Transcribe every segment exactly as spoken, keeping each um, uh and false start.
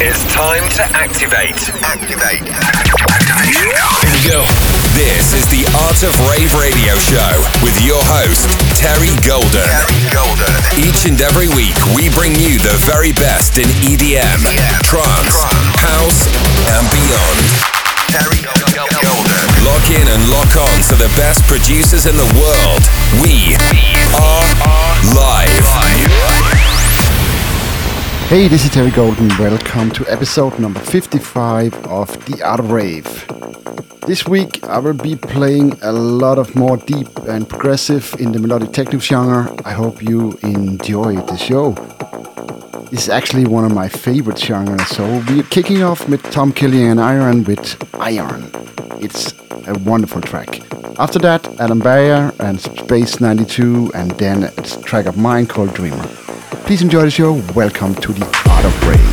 It's time to activate. Activate. Activation. Here we go. This is the Art of Rave Radio Show with your host, Terry Golden. Terry Golden. Each and every week, we bring you the very best in E D M, yeah. trance, trance, house, and beyond. Terry Golden. Lock in and lock on to the best producers in the world. We are live. Hey, this is Terry Golden. Welcome to episode number fifty-five of The Art of Rave. This week I will be playing a lot of more deep and progressive in the melodic techno genre. I hope you enjoy the show. This is actually one of my favorite genres, so we're kicking off with Tom Killian and Iron with Iron. It's a wonderful track. After that, Adam Beyer and Space ninety-two, and then it's a track of mine called Dreamer. Please enjoy the show. Welcome to The Art of Rave.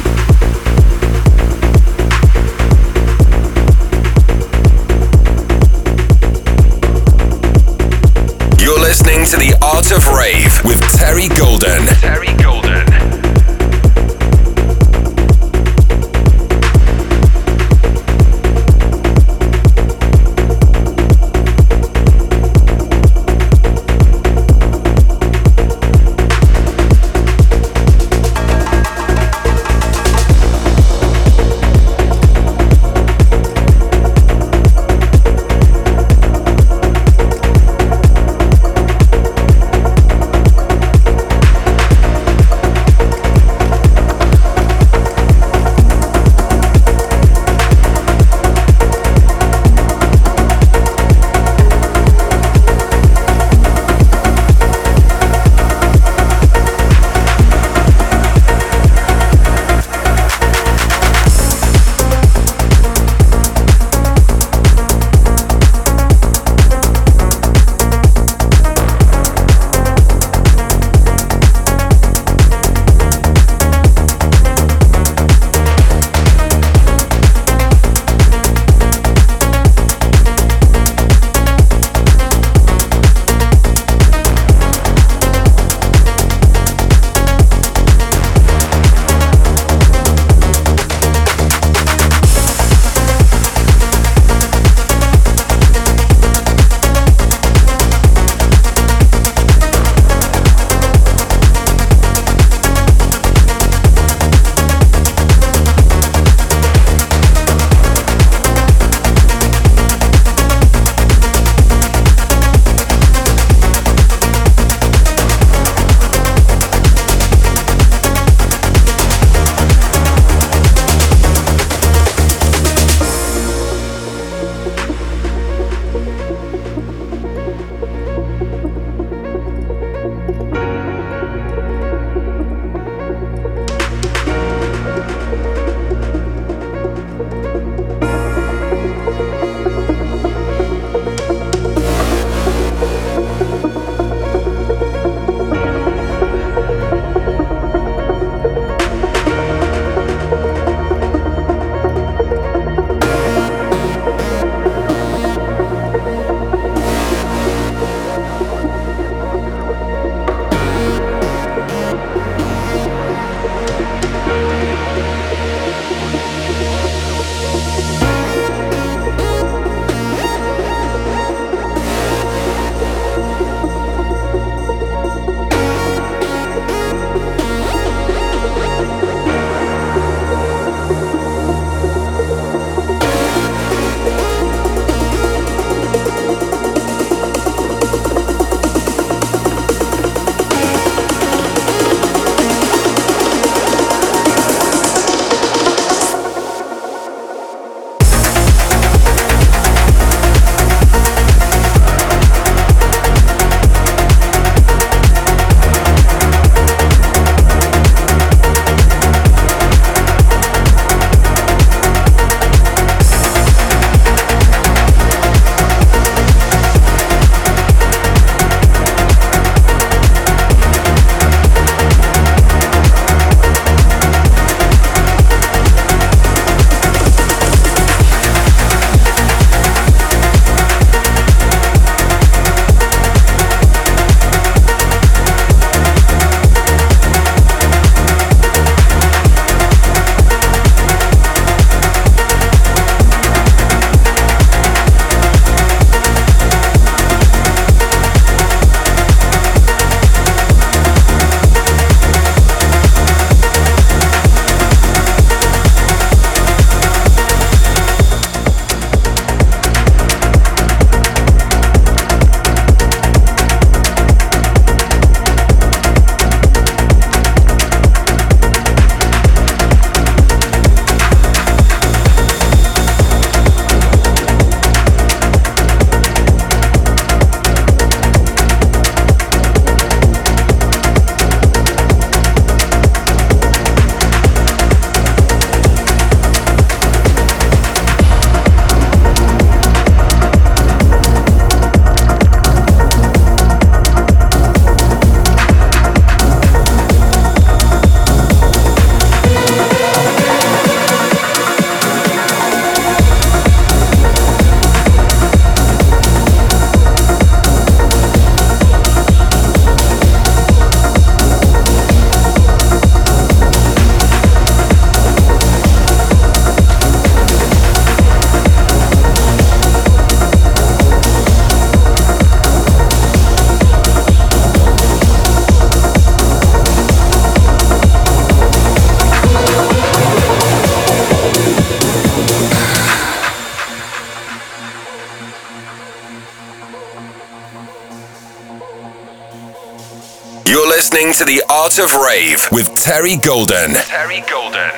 You're listening to The Art of Rave with Terry Golden. Terry Golden. listening to The Art of Rave with Terry Golden. Terry Golden.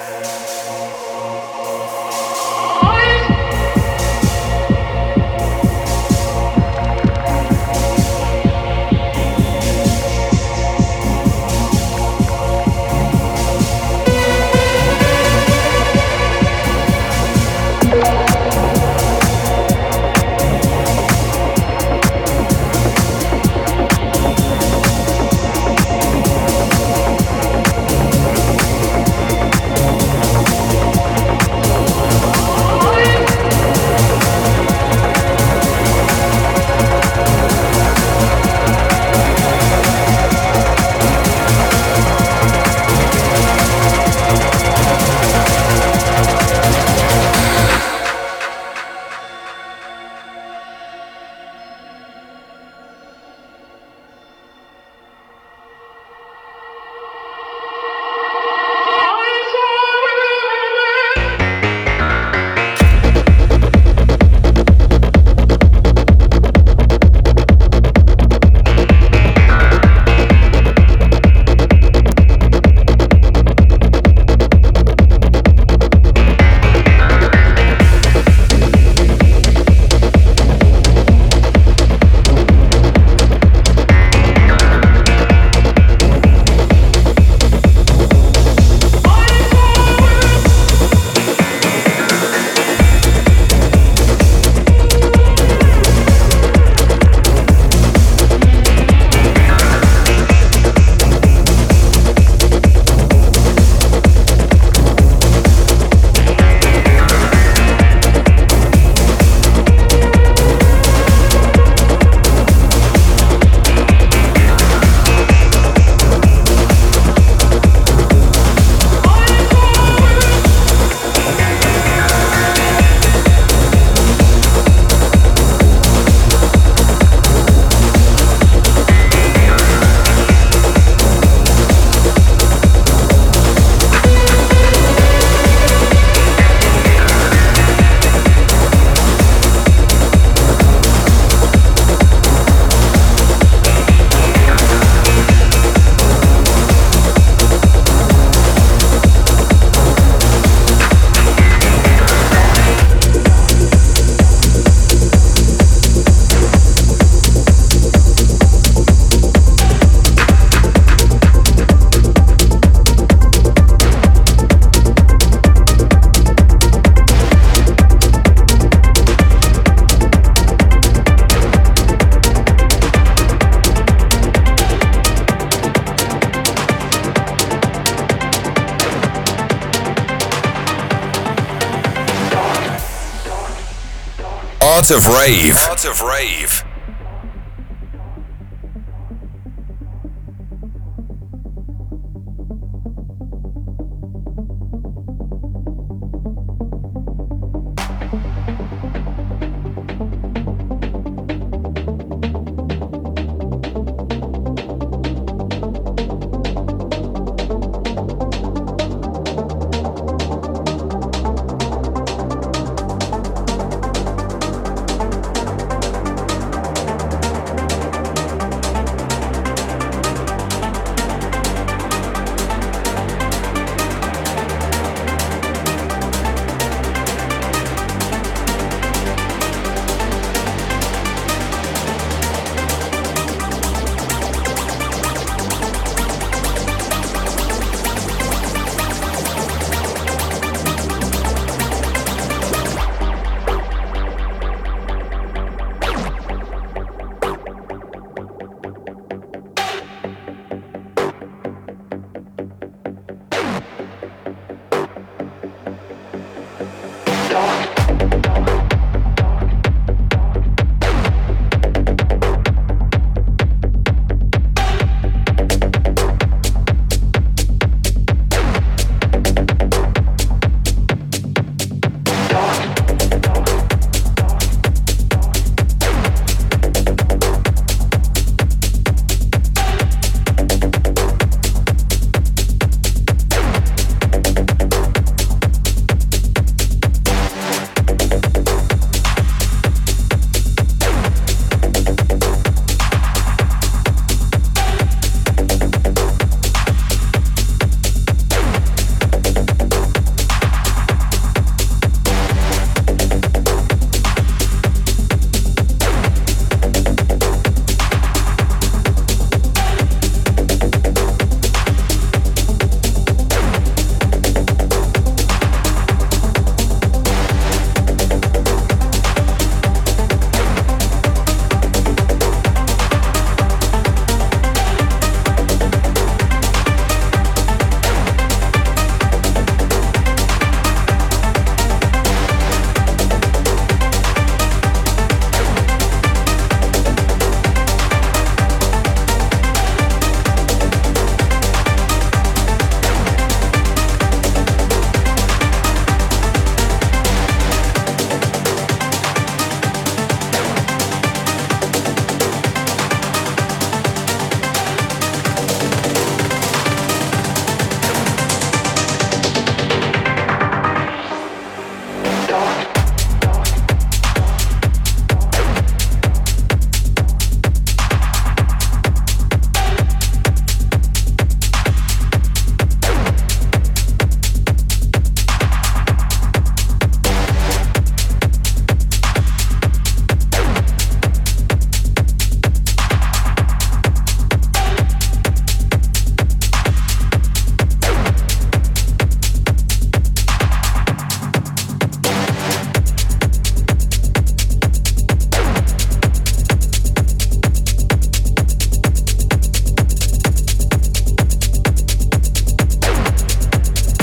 Art of Rave. Art of Rave.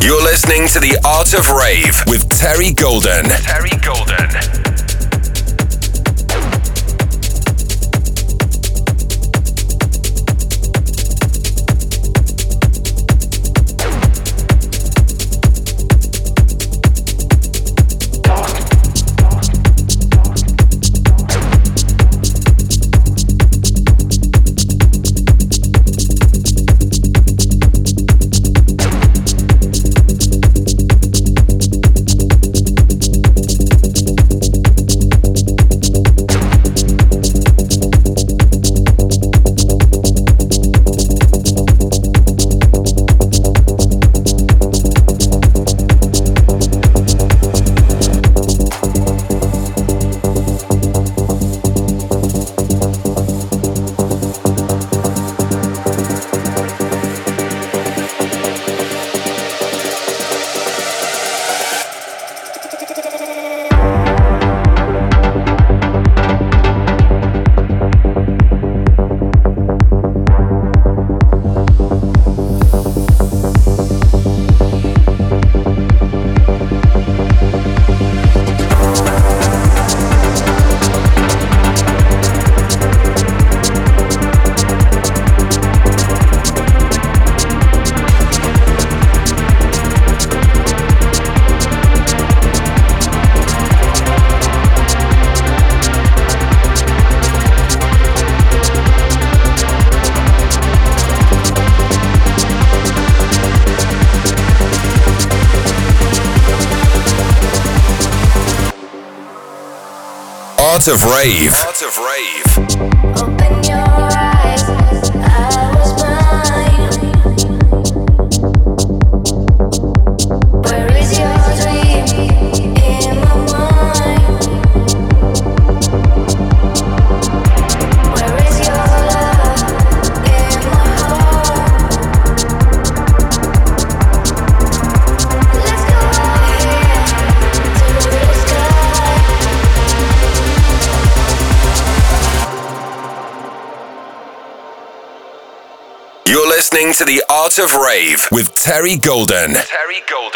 You're listening to The Art of Rave with Terry Golden. Terry Golden. Art of Rave. Art of Rave. Open your eyes, I was blind. Where is your dream in my mind? Where is your love in my heart? Let's go here to the sky. You're listening to The Art of Rave with Terry Golden. Terry Golden.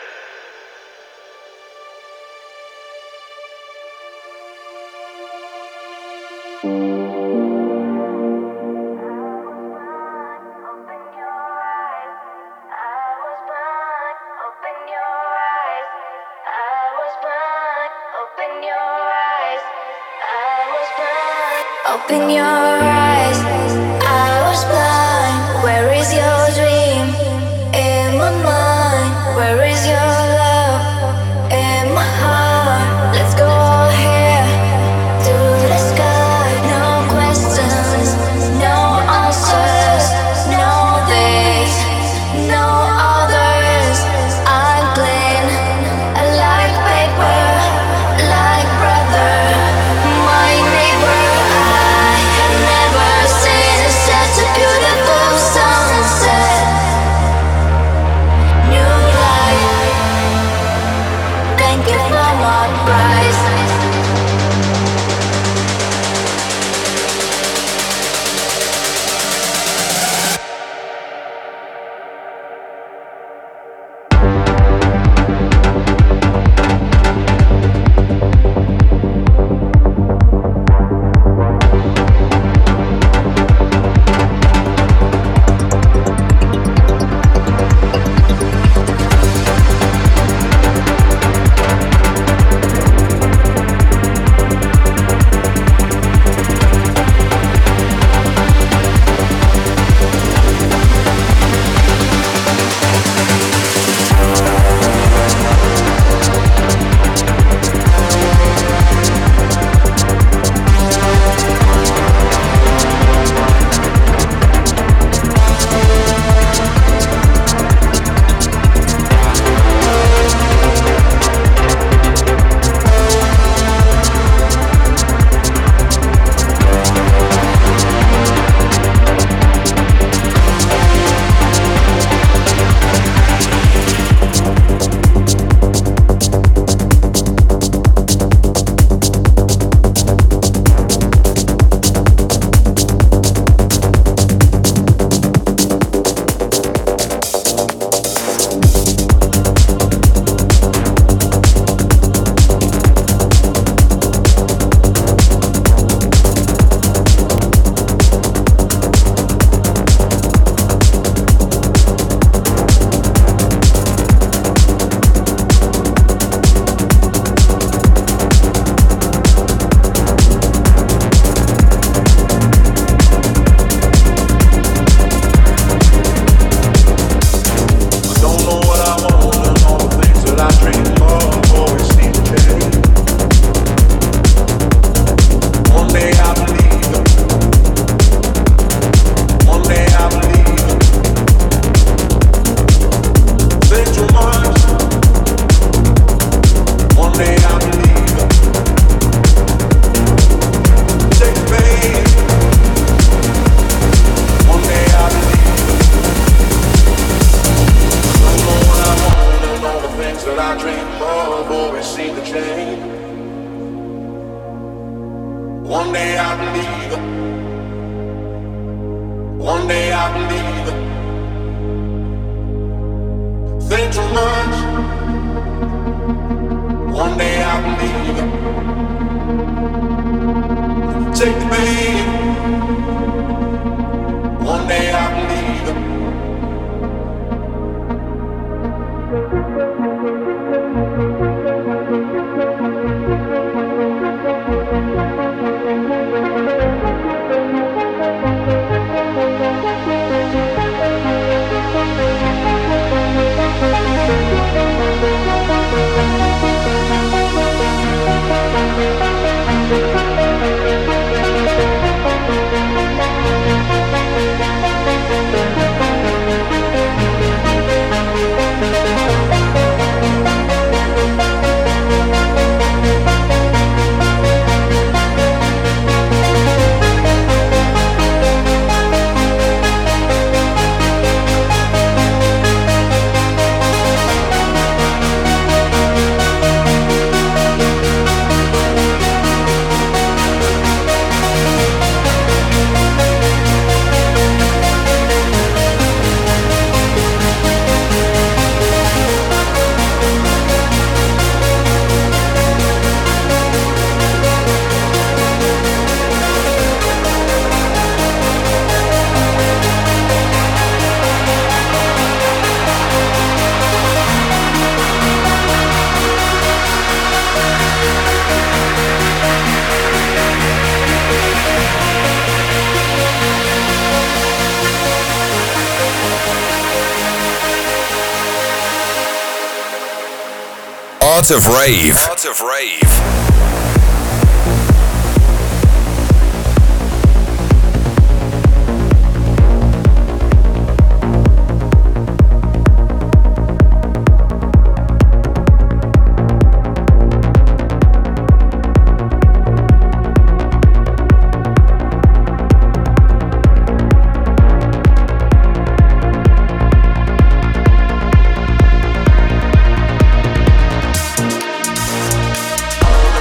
Open your eyes, I was blind. Where is your dream in my mind? Where is your love in my heart? Let's go here to the sky. No questions, no answers, no this, no others. I'm clean, like paper, like brother, my neighbor. I never believe it. One day I believe it. Think too much. One day I believe it. Take the bait. One day I believe it. Art of Rave. Art of Rave. Oh,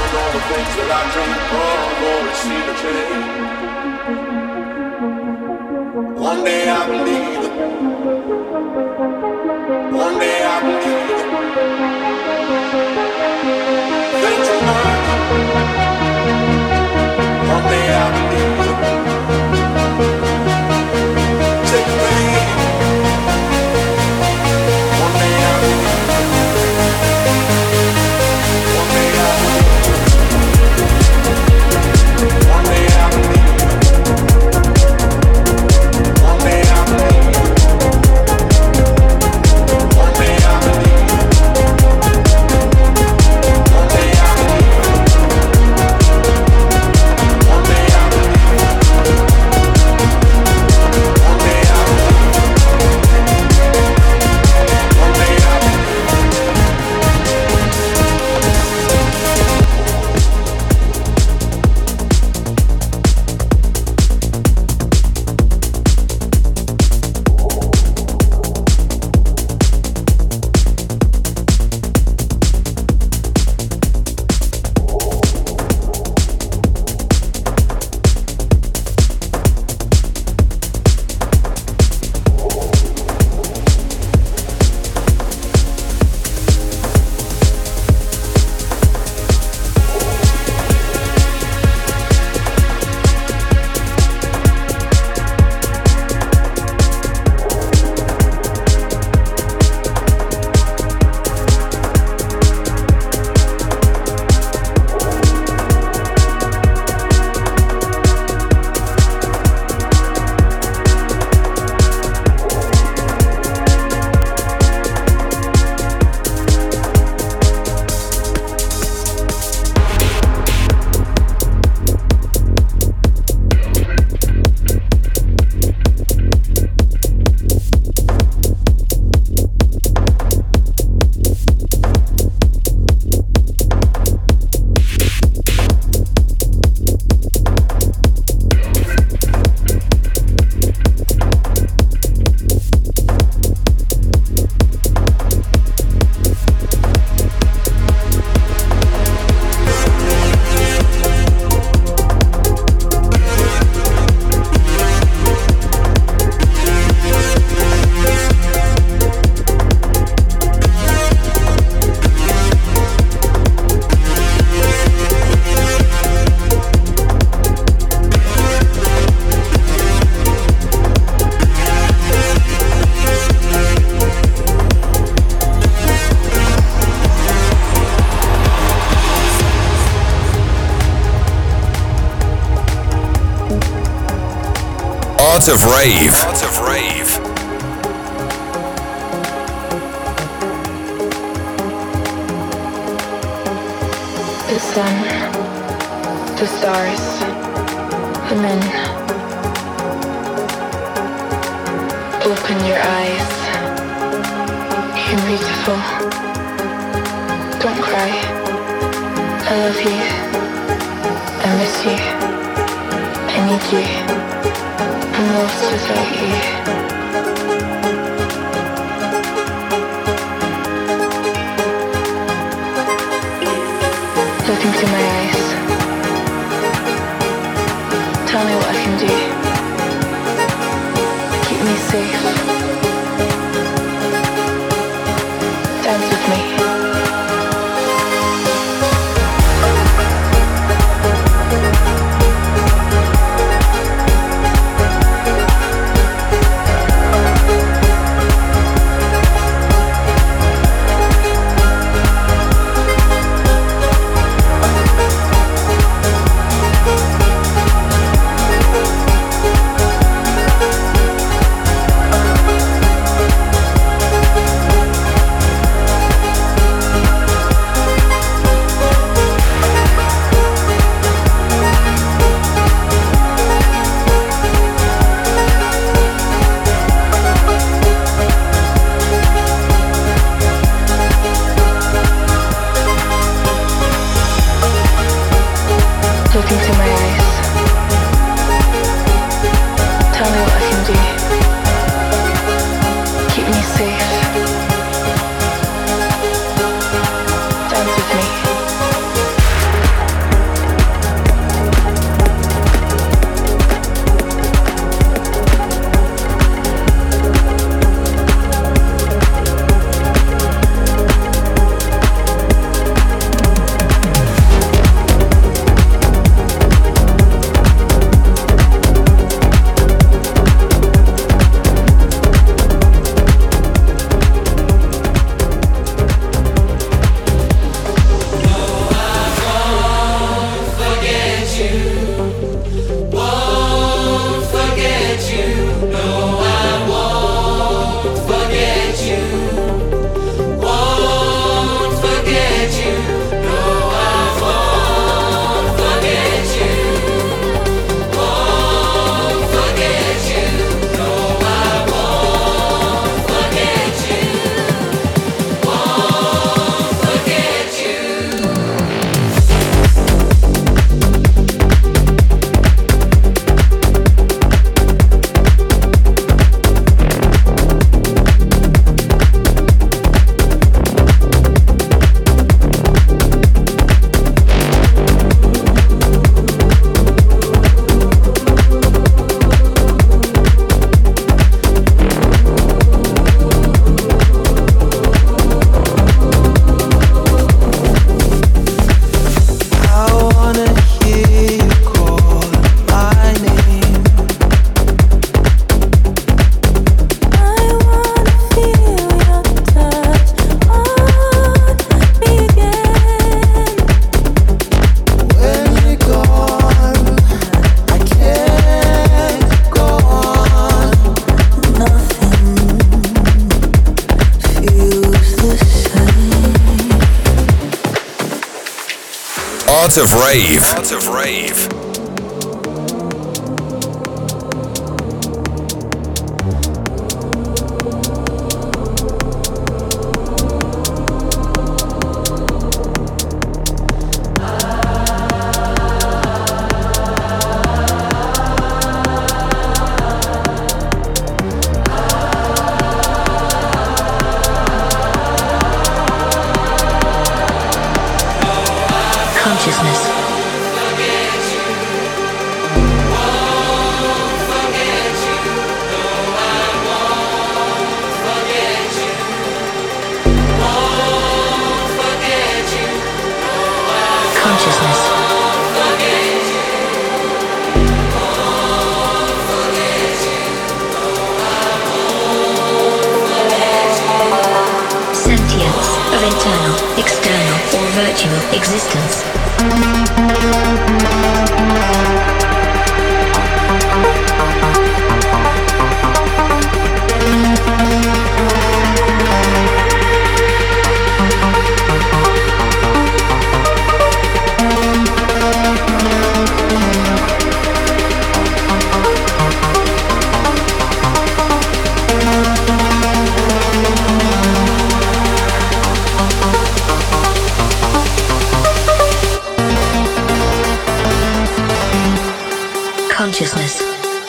Art of Rave. Art of Rave. The sun, the stars, the men. Open your eyes. You're beautiful. Don't cry. I love you. I miss you. I need you. I'm lost without you. Look into my eyes. Tell me what I can do. Keep me safe. Dance with me. Look into my eyes. Tell me what I can do. Keep me safe. Dance with me. Art of Rave. Art of Rave. Consciousness. Virtual existence. Consciousness.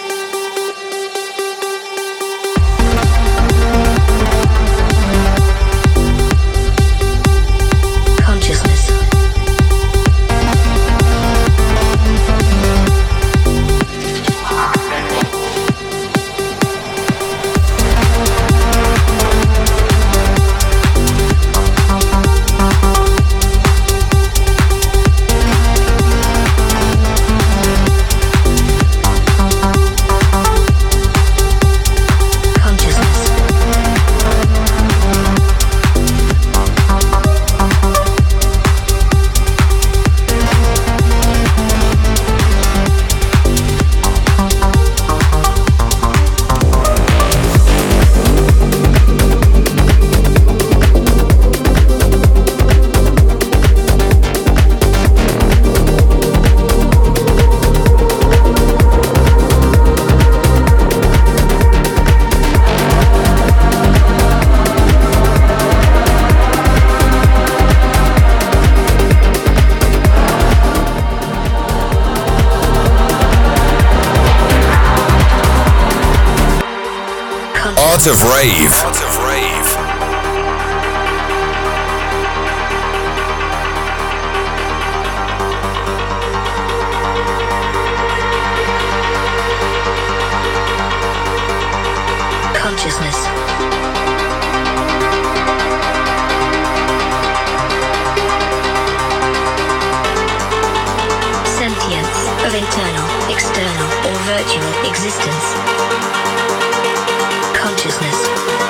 Consciousness. Art of Rave. Art of Rave. Consciousness. Sentience of internal, external, or virtual existence. Consciousness.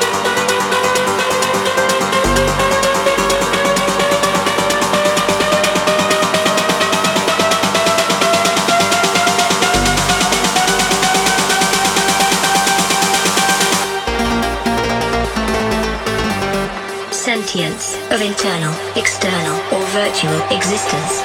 Sentience of internal, external, or virtual existence.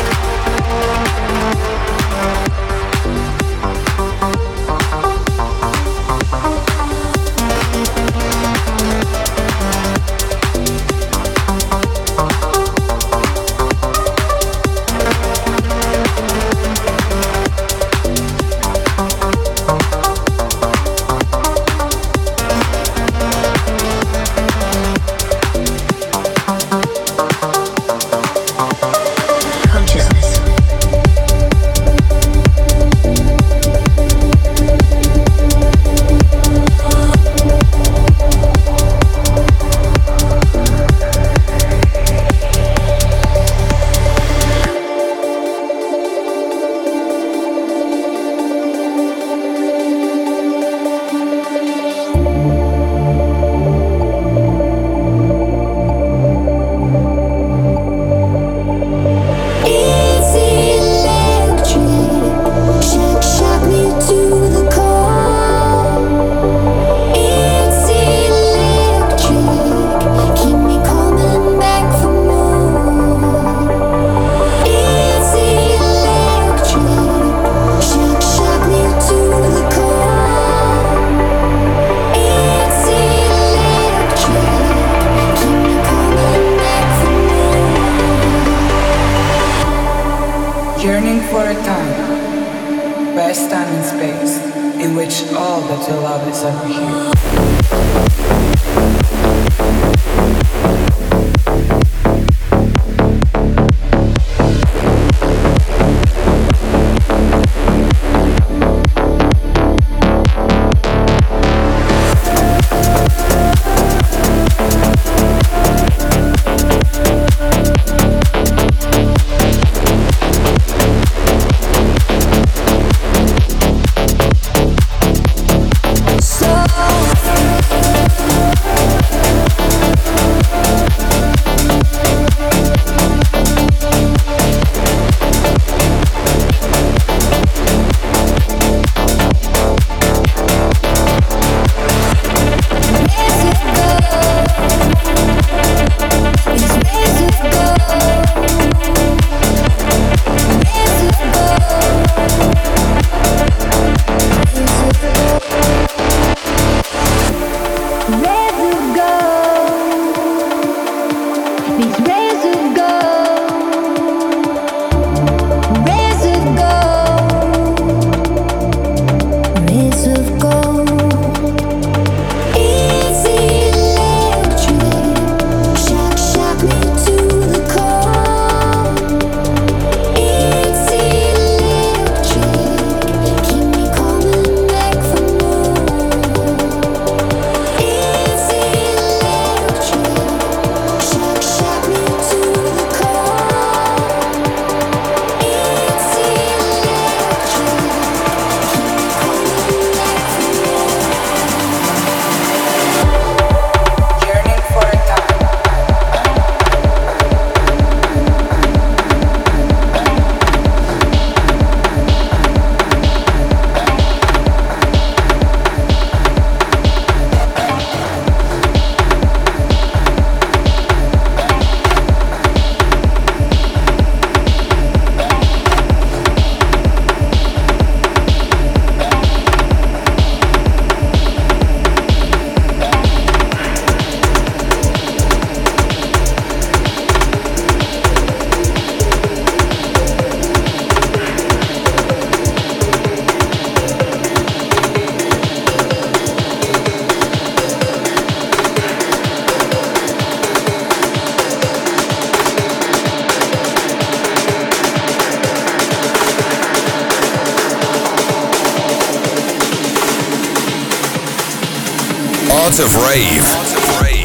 Yearning for a time, vast time and space, in which all that you love is ever here. of Rave. Art of Rave.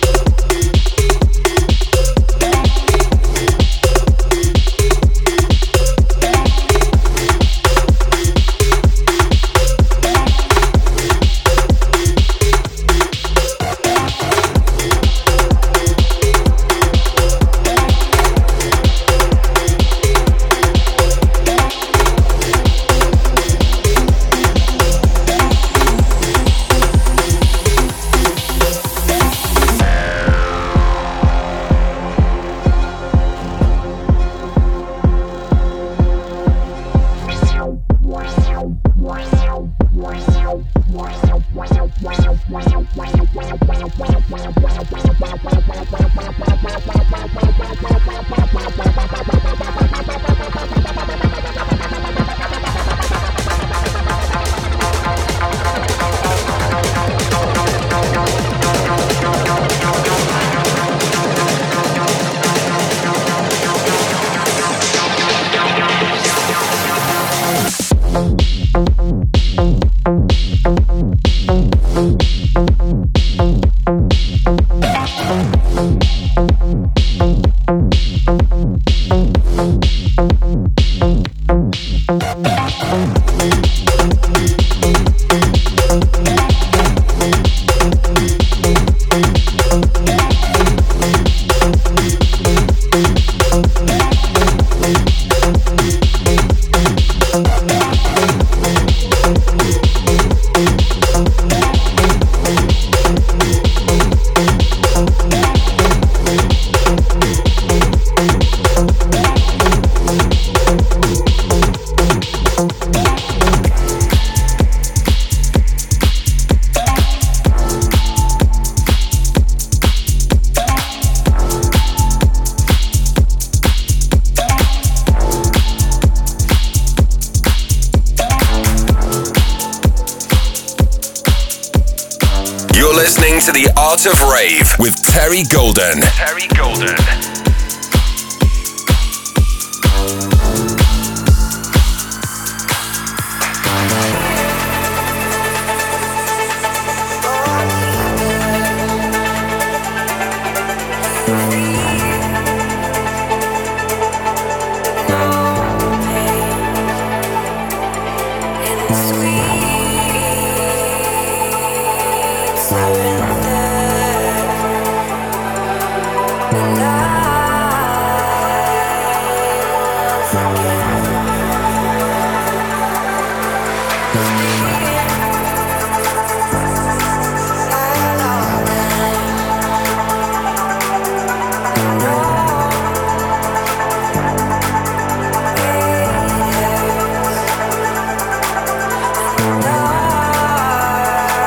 To the Art of Rave with Terry Golden. Terry Golden.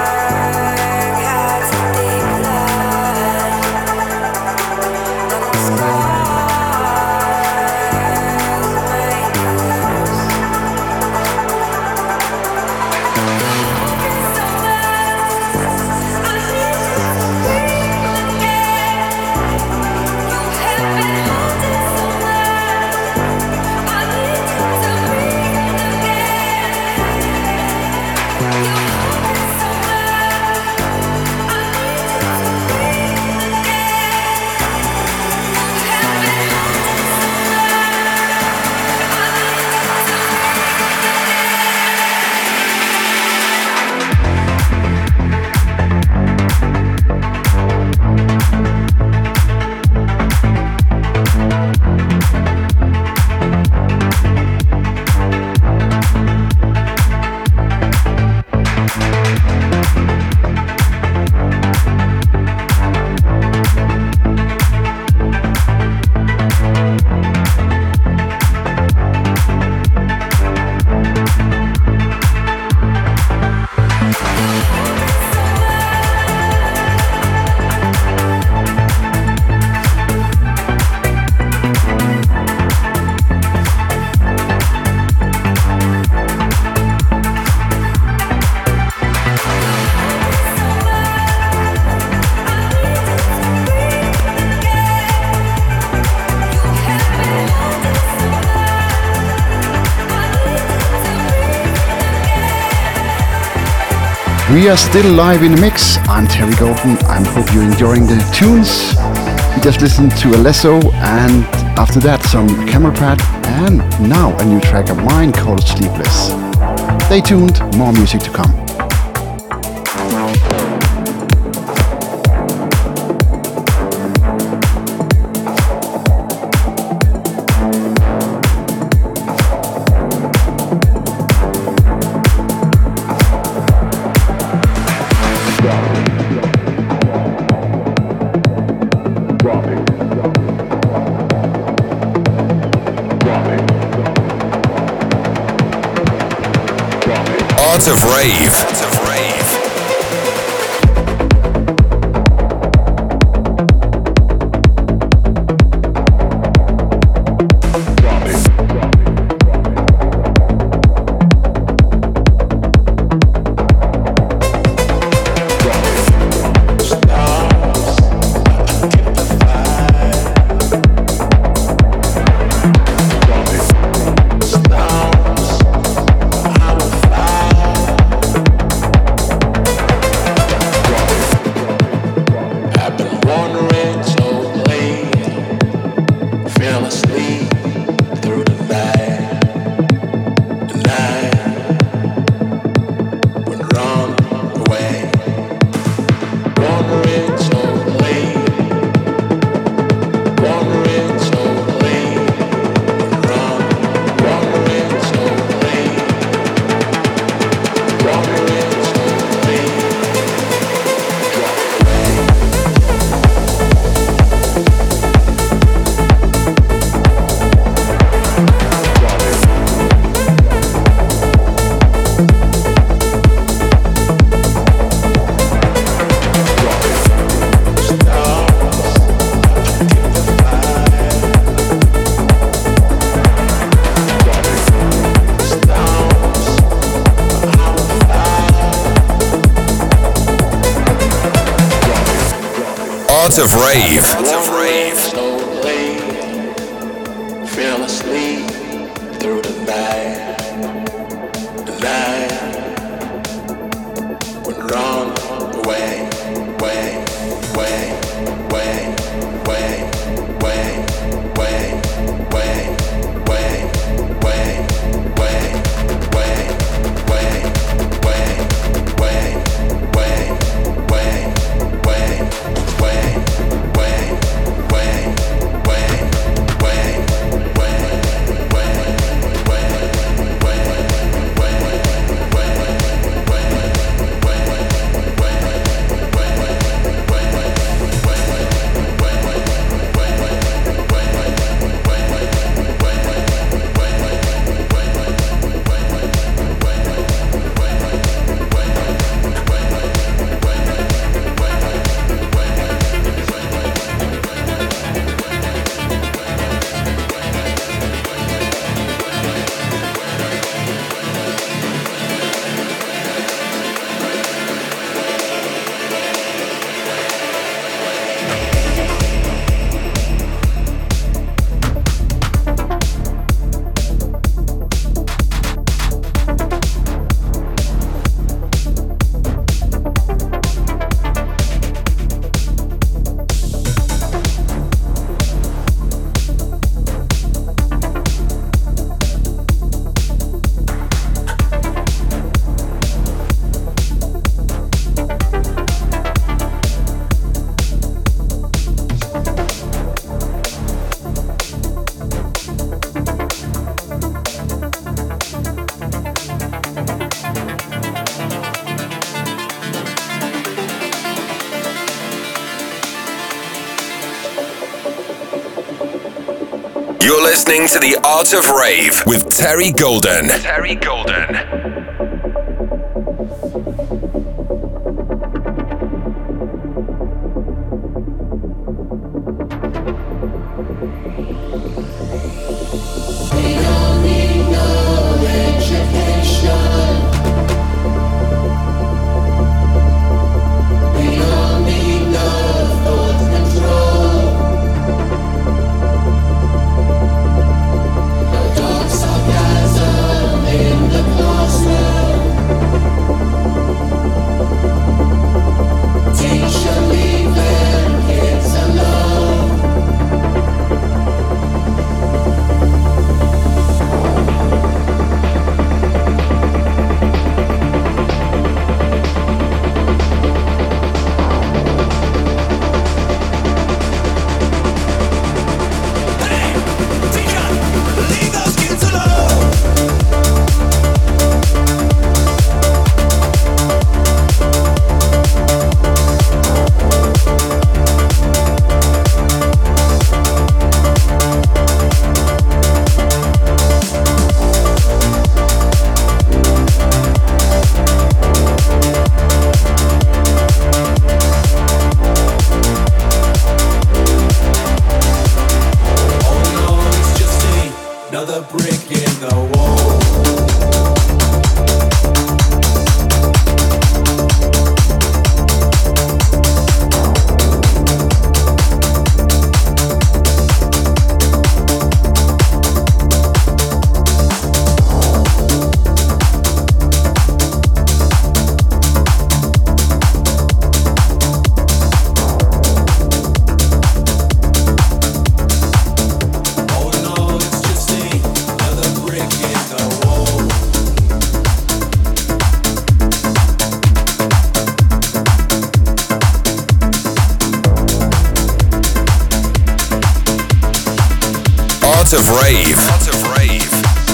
Let's We are still live in the mix. I'm Terry Golden. I hope you're enjoying the tunes. We just listened to Alesso, and after that some Camera Pad, and now a new track of mine called Sleepless. Stay tuned, more music to come. Art of Rave. Art of Rave. Art of Rave. Art of Rave. Slowly fell asleep through the night. The night would run away, way, way, way, way, way, way, way, way, way, way, way, You're listening to The Art of Rave with Terry Golden. Terry Golden. Sarcasm in the closet. Art of Rave. Art of Rave.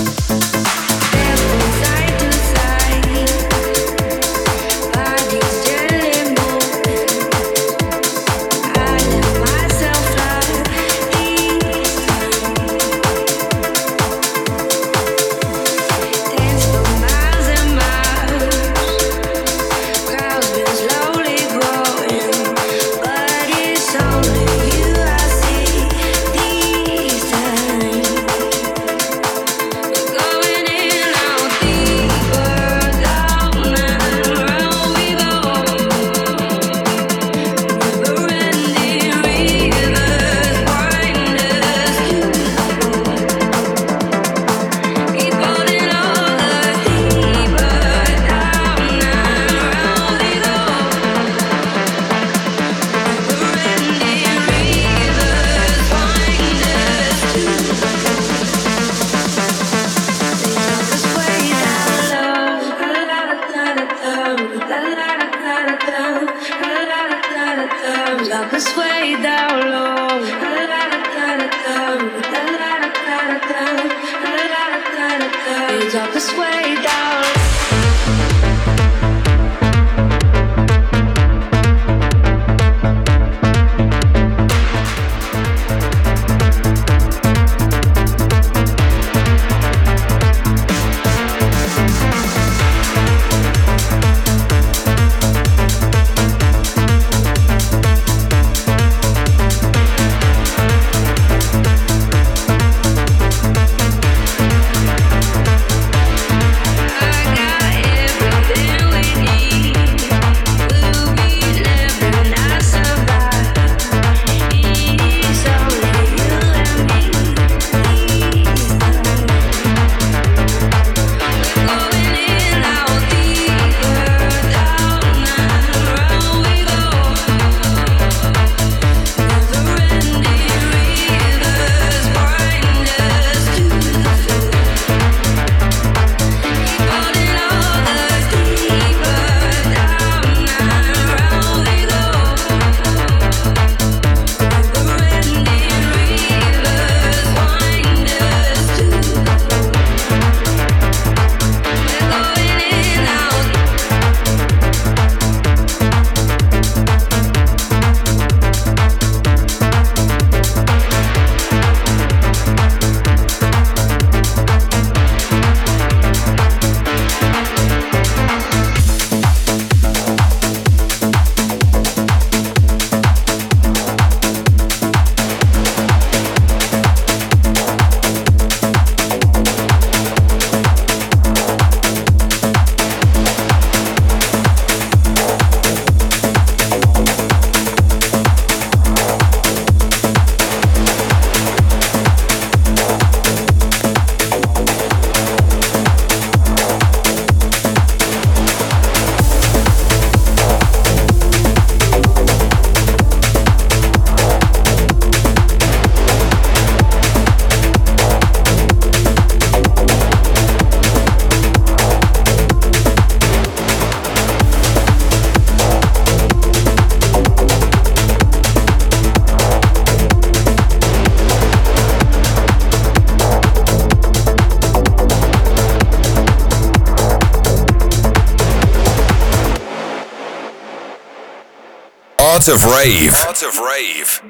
Art of Rave. Art of Rave.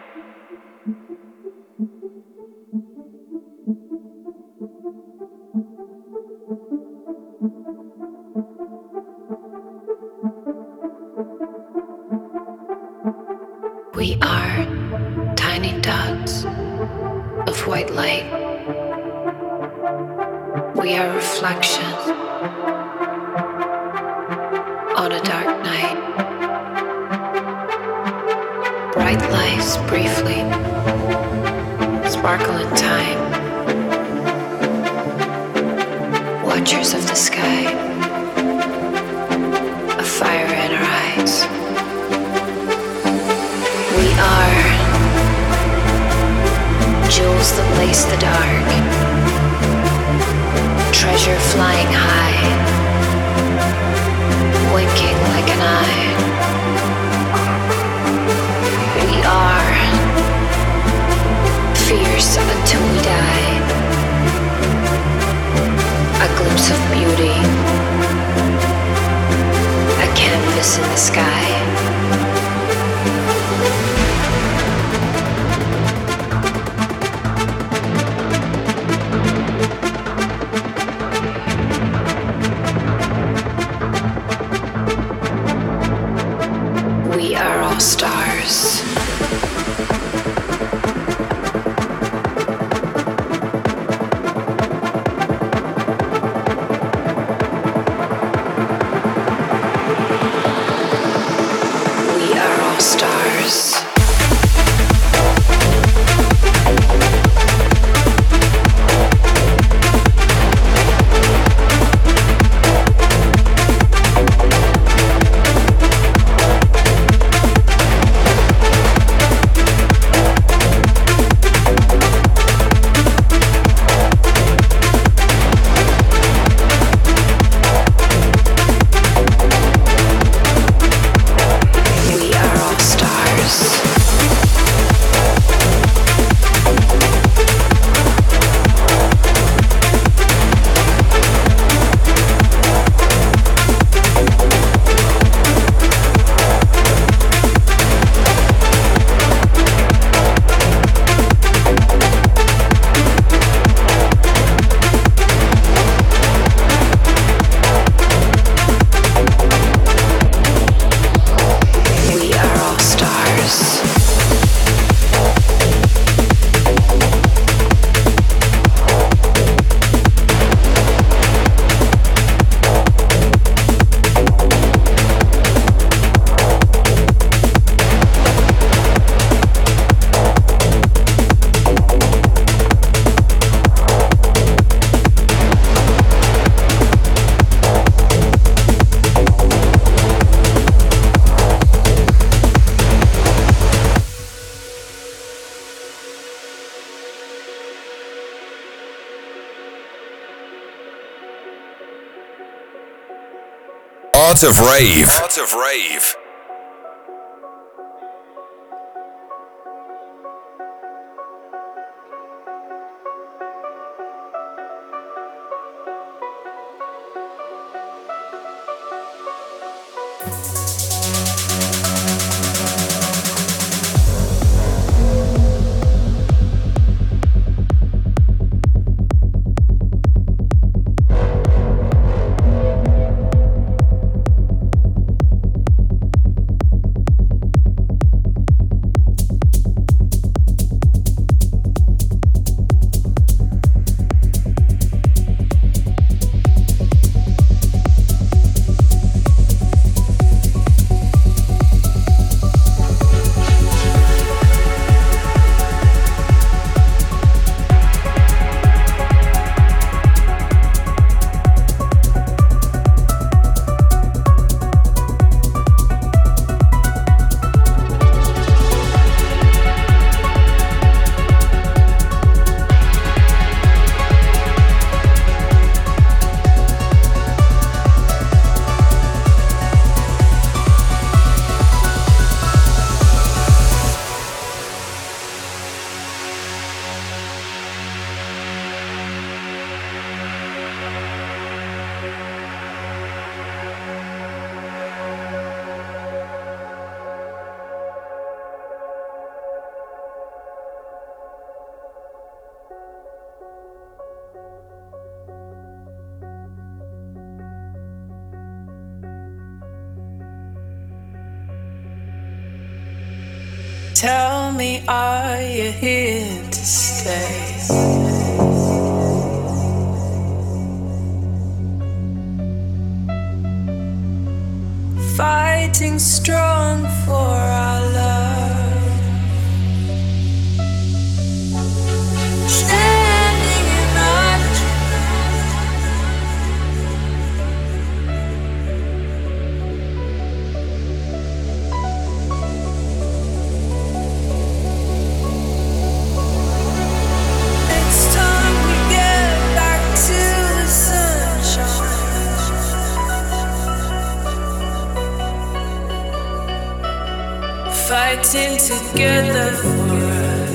We are tiny dots of white light. We are reflections on a dark night. Bright lights briefly sparkle in time. Watchers of the sky, a fire in our eyes. We are jewels that lace the dark, treasure flying high, winking like an eye. We are fierce until we die. sky. We are all stars. We are all stars. We are all stars. We are all stars. Art of Rave. Art of Rave. Tell me, are you here to stay? Fighting strong for our love. Standing in our It's time we get back to the sunshine. Fighting together for us.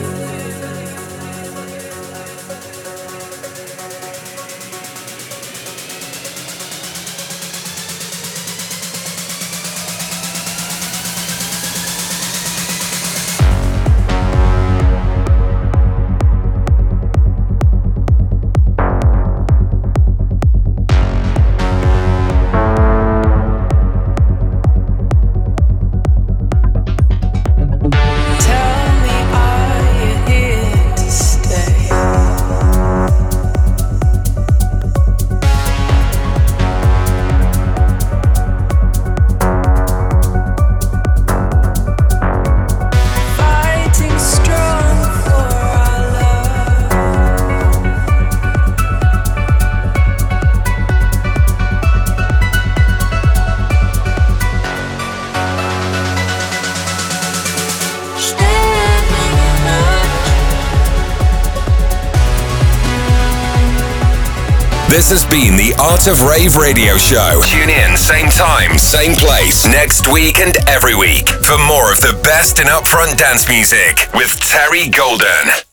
This has been the Art of Rave Radio Show. Tune in, same time, same place, next week and every week for more of the best in upfront dance music with Terry Golden.